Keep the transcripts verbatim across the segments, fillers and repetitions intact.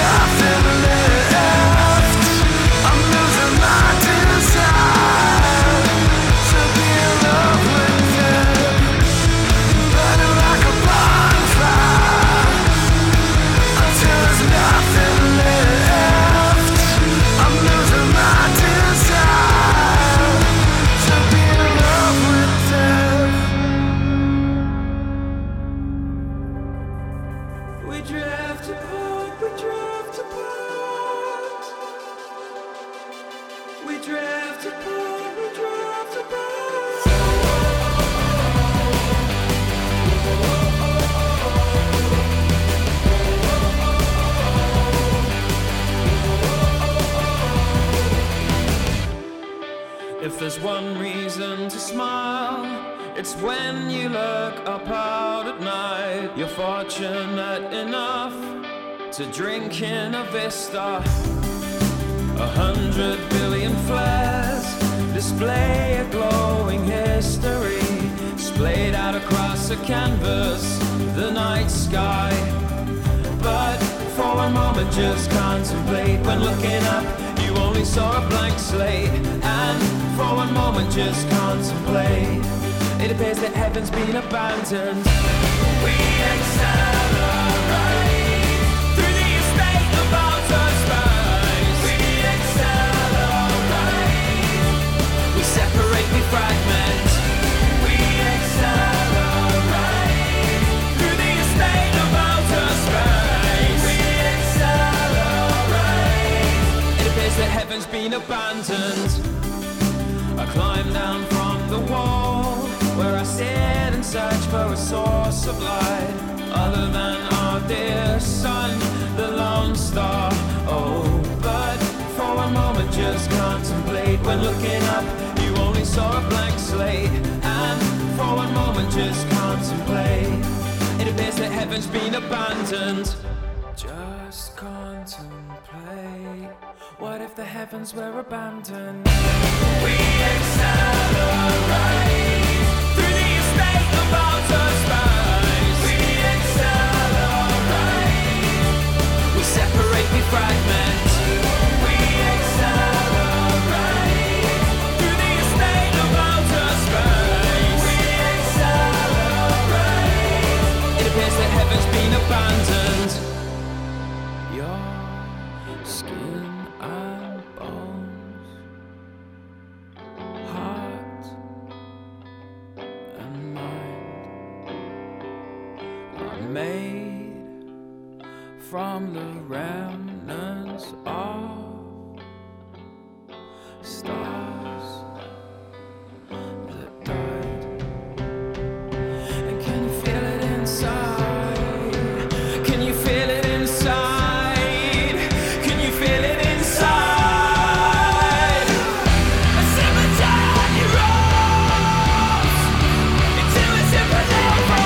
If there's one reason to smile, it's when you look up out at night. You're fortunate enough to drink in a vista. A hundred billion flares display a glowing history, splayed out across a canvas, the night sky. But for a moment just contemplate, when looking up you only saw a blank slate. And for one moment just contemplate, it appears that heaven's been abandoned. We accelerate through the estate of outer space. We accelerate, we separate, we fragment. We accelerate through the estate of outer space. We accelerate, it appears that heaven's been abandoned. I climb down from the wall where I sit and search for a source of light other than our dear sun, the lone star. Oh, but for a moment just contemplate, when looking up you only saw a blank slate. And for one moment just contemplate, it appears that heaven's been abandoned. Just contemplate, what if the heavens were abandoned? We accelerate through the estate of outer space. We accelerate, we separate, we fragment. We accelerate through the estate of outer space. We accelerate, it appears that heaven's been abandoned. Your skin and bones, heart and mind are made from the remnants of stars that died. And can you feel it inside? Can you feel it inside? Can you feel it inside? A cemetery rolls into a supernova.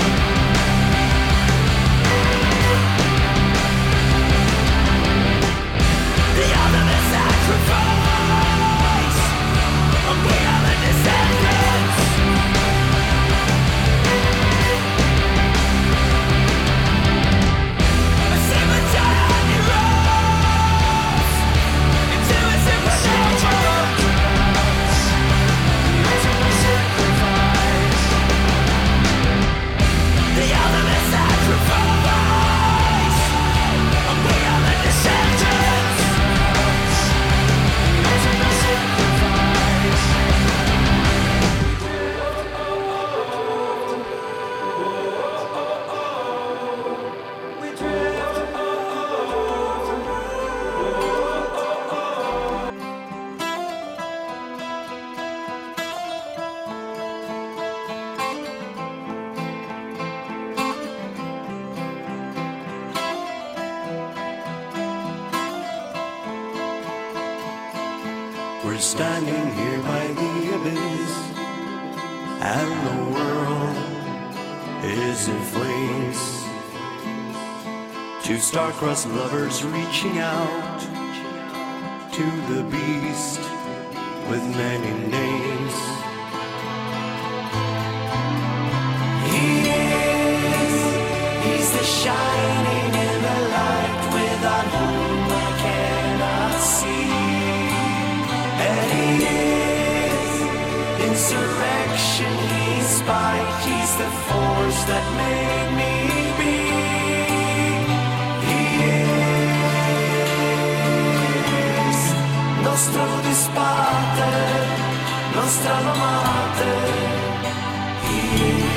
The ultimate sacrifice, and we are the descendants. A cemetery rolls into a supernova. The ultimate sacrifice, and we are the descendants. We drift. We're standing here by the abyss, and the world is in flames. Two star-crossed lovers reaching out to the beast with many names. He is, he's the shining in the light with unholy spite, he's the force that made me be. He is nostro disparte, nostra amate. He is.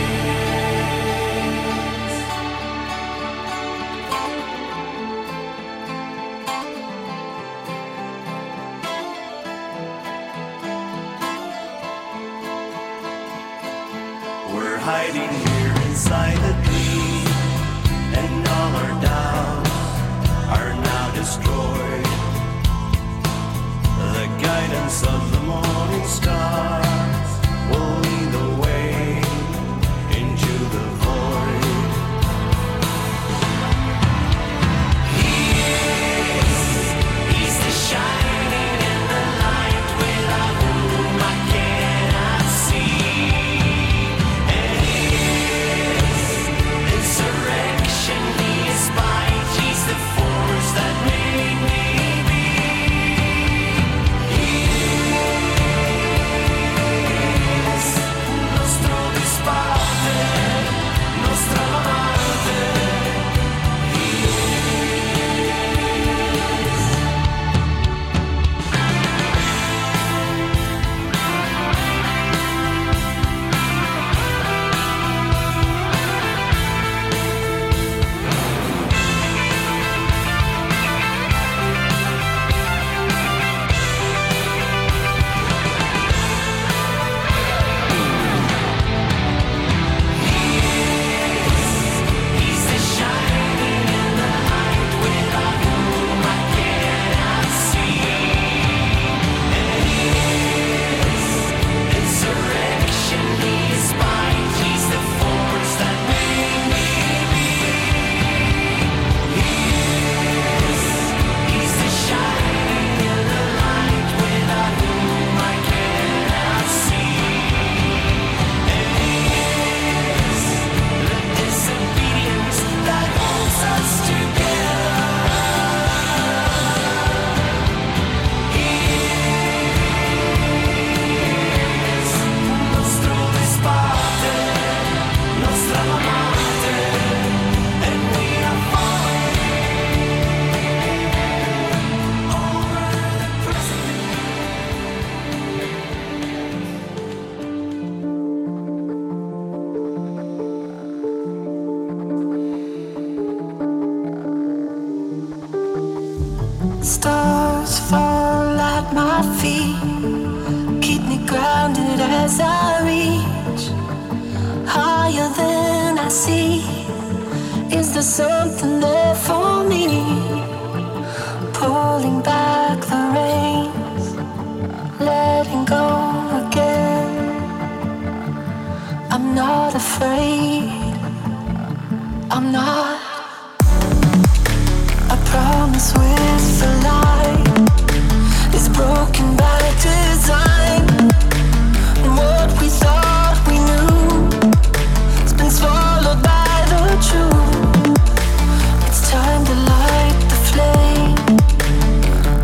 We're hiding here inside the dream, and all our doubts are now destroyed. The guidance of the morning stars will lead the way into the void. He is, he's the shining in the light without whom I cannot see. Insurrection, he is spite, he's the force that made me be. He is nostro disparte, nostra amate. He He's the shining in the light without whom I cannot see. And he is insurrection, he is spite, he's the force that made me be. He is, he's the shining in the light without whom I cannot see. And he is the disobedience that holds us together. He is nostro disparte, nostra amate, and we are falling over the Stars fall at my feet, keep me grounded as I reach higher than I see. Is there something there for me? Pulling back the reins, letting go again. I'm not afraid, I'm not. I promise with the light is broken by design. And what we thought we knew has been swallowed by the truth. It's time to light the flame,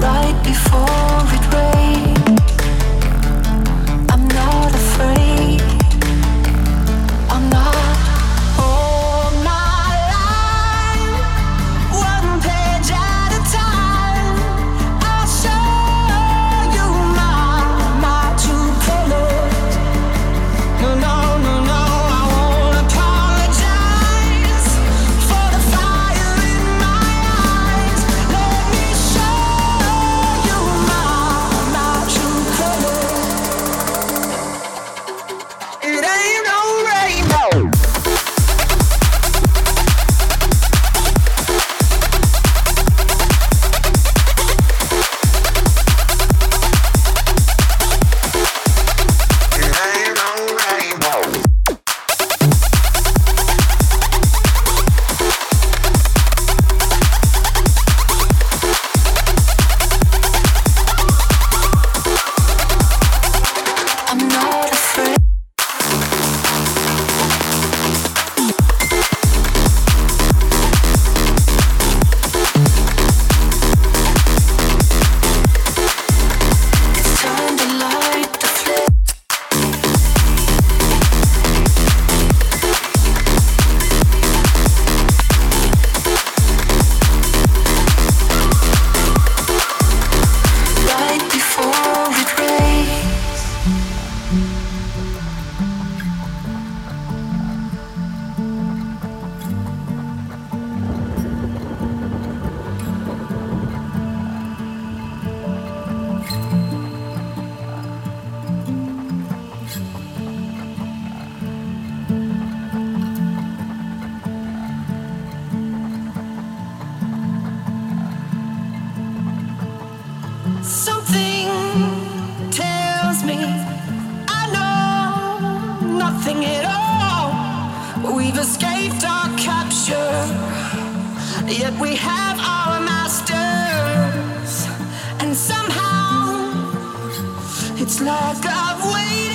Something tells me I know nothing at all. We've escaped our capture, yet we have our masters. And somehow it's like I've waited.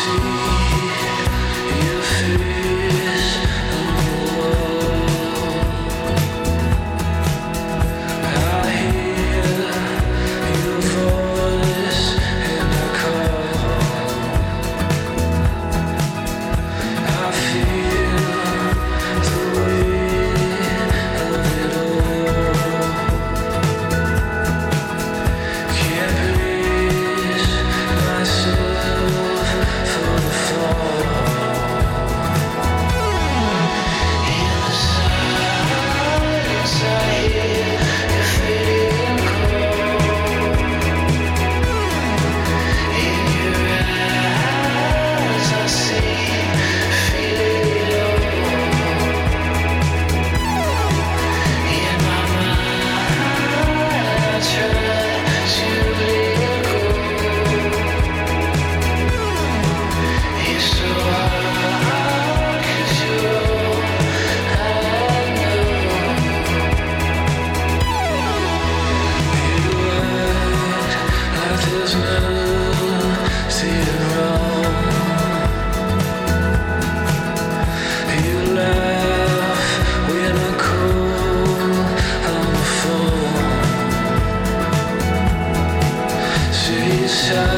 Shine.